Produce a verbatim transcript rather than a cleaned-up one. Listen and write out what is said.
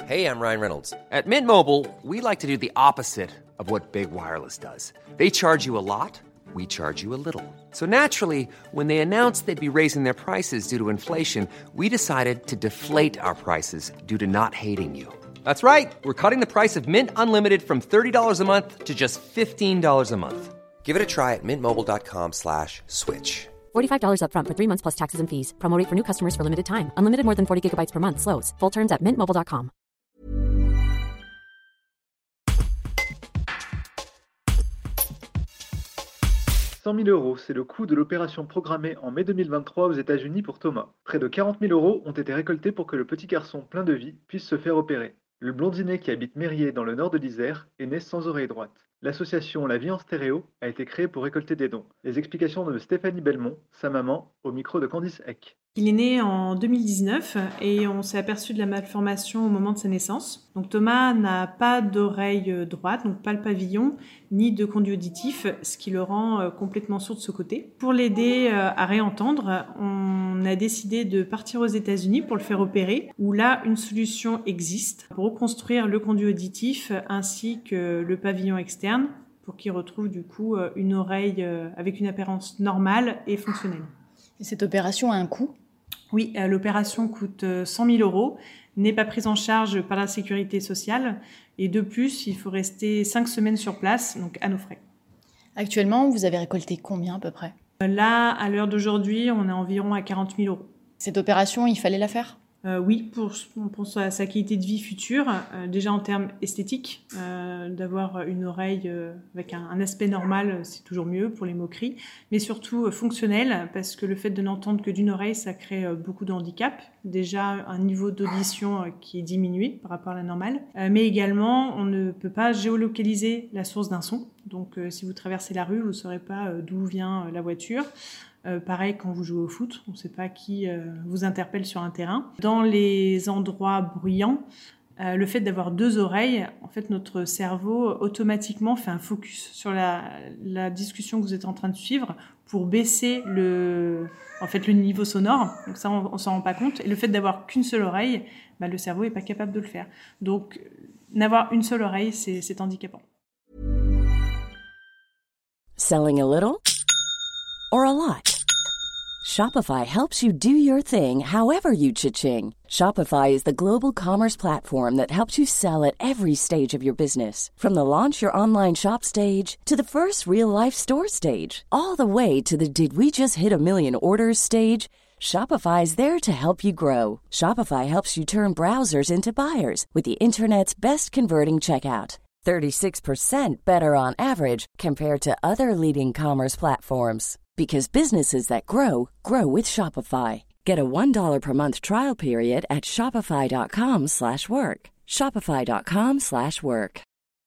Hey, I'm Ryan Reynolds. At Mint Mobile, we like to do the opposite of what Big Wireless does. They charge you a lot, we charge you a little. So naturally, when they announced they'd be raising their prices due to inflation, we decided to deflate our prices due to not hating you. That's right. We're cutting the price of Mint Unlimited from thirty dollars a month to just fifteen dollars a month. Give it a try at mintmobile.com slash switch. forty-five dollars up front for three months plus taxes and fees. Promo rate for new customers for limited time. Unlimited more than forty gigabytes per month. Slows full terms at mint mobile dot com. cent mille euros, c'est le coût de l'opération programmée en mai deux mille vingt-trois aux États-Unis pour Thomas. Près de quarante mille euros ont été récoltés pour que le petit garçon plein de vie puisse se faire opérer. Le blondinet qui habite Mérier dans le nord de l'Isère est né sans oreille droite. L'association La Vie en Stéréo a été créée pour récolter des dons. Les explications de Stéphanie Belmont, sa maman, au micro de Candice Eck. Il est né en deux mille dix-neuf et on s'est aperçu de la malformation au moment de sa naissance. Donc Thomas n'a pas d'oreille droite, donc pas le pavillon, ni de conduit auditif, ce qui le rend complètement sourd de ce côté. Pour l'aider à réentendre, on a décidé de partir aux États-Unis pour le faire opérer, où là, une solution existe pour reconstruire le conduit auditif ainsi que le pavillon externe pour qu'il retrouve du coup une oreille avec une apparence normale et fonctionnelle. Et cette opération a un coût ? Oui, l'opération coûte cent mille euros, n'est pas prise en charge par la sécurité sociale et de plus, il faut rester cinq semaines sur place, donc à nos frais. Actuellement, vous avez récolté combien à peu près ? Là, à l'heure d'aujourd'hui, on est environ à quarante mille euros. Cette opération, il fallait la faire ? Euh, oui, pour, pour sa, sa qualité de vie future, euh, déjà en termes esthétiques, euh, d'avoir une oreille euh, avec un, un aspect normal, c'est toujours mieux pour les moqueries, mais surtout euh, fonctionnel, parce que le fait de n'entendre que d'une oreille, ça crée euh, beaucoup de handicap. Déjà un niveau d'audition euh, qui est diminué par rapport à la normale, euh, mais également on ne peut pas géolocaliser la source d'un son. Donc euh, si vous traversez la rue, vous ne saurez pas euh, d'où vient euh, la voiture. Euh, pareil quand vous jouez au foot, on ne sait pas qui euh, vous interpelle sur un terrain. Dans les endroits bruyants, euh, le fait d'avoir deux oreilles, en fait notre cerveau automatiquement fait un focus sur la, la discussion que vous êtes en train de suivre pour baisser le, en fait, le niveau sonore. Donc ça, on ne s'en rend pas compte. Et le fait d'avoir qu'une seule oreille, bah, le cerveau n'est pas capable de le faire. Donc n'avoir une seule oreille, c'est, c'est handicapant. Selling a little or a lot? Shopify helps you do your thing however you cha-ching. Shopify is the global commerce platform that helps you sell at every stage of your business. From the launch your online shop stage to the first real-life store stage, all the way to the did we just hit a million orders stage. Shopify's there to help you grow. Shopify helps you turn browsers into buyers with the internet's best converting checkout. thirty-six percent better on average compared to other leading commerce platforms. Because businesses that grow, grow with Shopify. Get a one dollar per month trial period at shopify.com slash work. Shopify.com slash work.